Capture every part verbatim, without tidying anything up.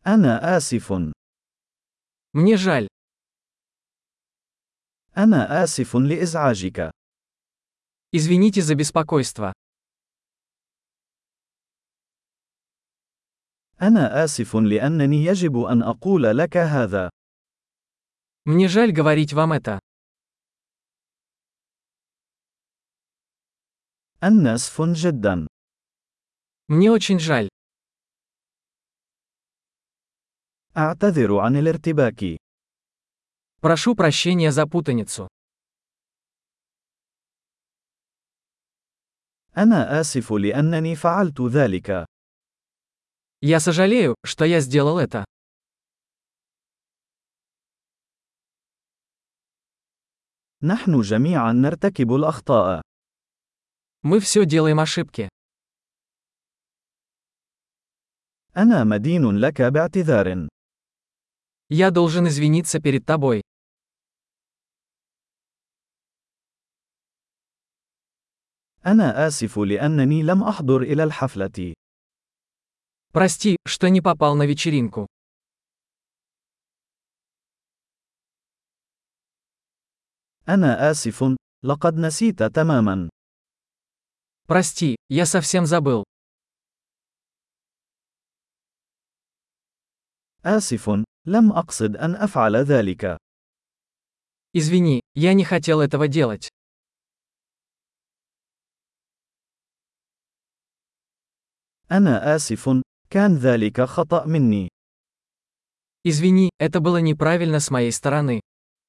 أنا آسف. Мне жаль. أنا آسف لإزعاجك. Извините за беспокойство. أنا آسف لأنني يجب أن أقول لك هذا. Мне жаль говорить вам это. أنا آسف جدا. Мне очень жаль. أعتذر عن الارتباك. Прошу прощения за путаницу. أنا آسف لأنني فعلت ذلك. Я сожалею, что я сделал это. نحن جميعا نرتكب الأخطاء. Мы все делаем ошибки. أنا مدين لك باعتذار. Я должен извиниться перед тобой. أنا آسف لأنني لم أحضر إلى الحفلة. Прости, что не попал на вечеринку. أنا آسف. لقد نسيت تماما. Прости, я совсем забыл. آسف. لم أقصد أن أفعل ذلك. Извини, я не хотел этого делать. أنا آسف. كان ذلك خطأ مني. Извини, это было неправильно с моей стороны.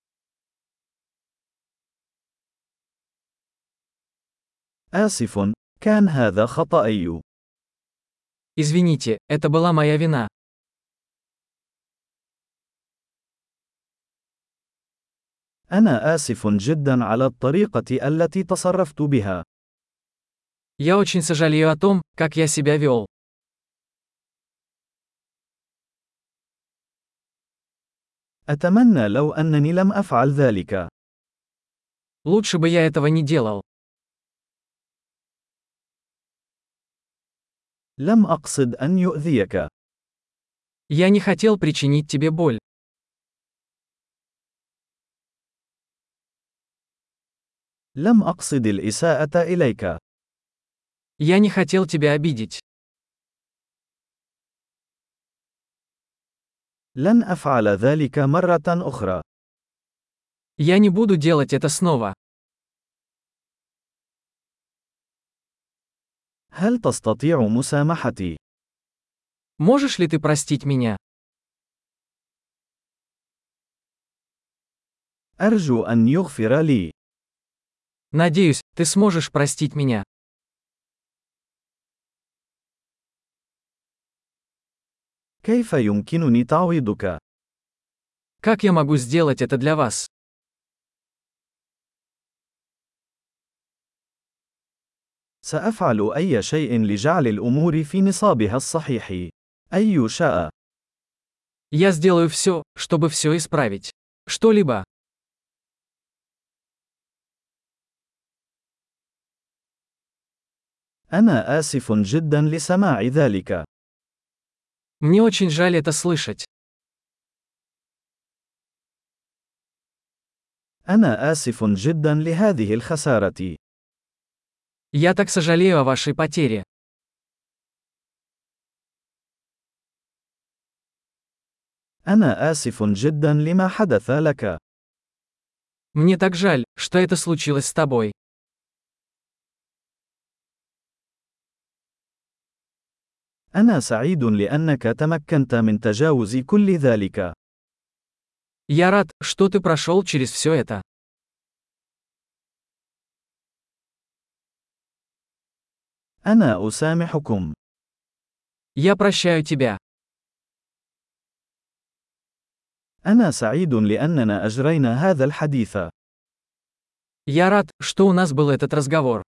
آسف. كان هذا خطأي. Извините, это была моя вина. أنا آسف جدا على الطريقة التي تصرفت بها. Я очень сожалею о том, как я себя вел. أتمنى لو أنني لم أفعل ذلك. Лучше бы я этого не делал. لم أقصد أن يؤذيك. Я не хотел причинить тебе боль. لم أقصد الإساءة إليك. Я не хотел тебя обидеть. لن أفعل ذلك مرة أخرى. Я не буду делать это снова. هل تستطيع مسامحتي؟ Можешь ли ты простить меня? أرجو أن يغفر لي. Надеюсь, ты сможешь простить меня. كيف يمكنني تعويضك؟ Как я могу сделать это для вас? سأفعل أي شيء لجعل الأمور في نصابها الصحيح. أي شاء. Я сделаю все, чтобы все исправить. Что-либо. أنا آسف جدا لسماع ذلك. Мне очень жаль это слышать. أنا آسف جدا لهذه الخسارة. Я так сожалею о вашей потере. أنا آسف جدا لما حدث لك. Мне так жаль, что это случилось с тобой. أنا سعيد لأنك تمكنت من تجاوز كل ذلك. Я рад, что ты прошел через все это. أنا أسامحكم. Я прощаю тебя. أنا سعيد لأننا أجرينا هذا الحديث. Я рад, что у нас был этот разговор.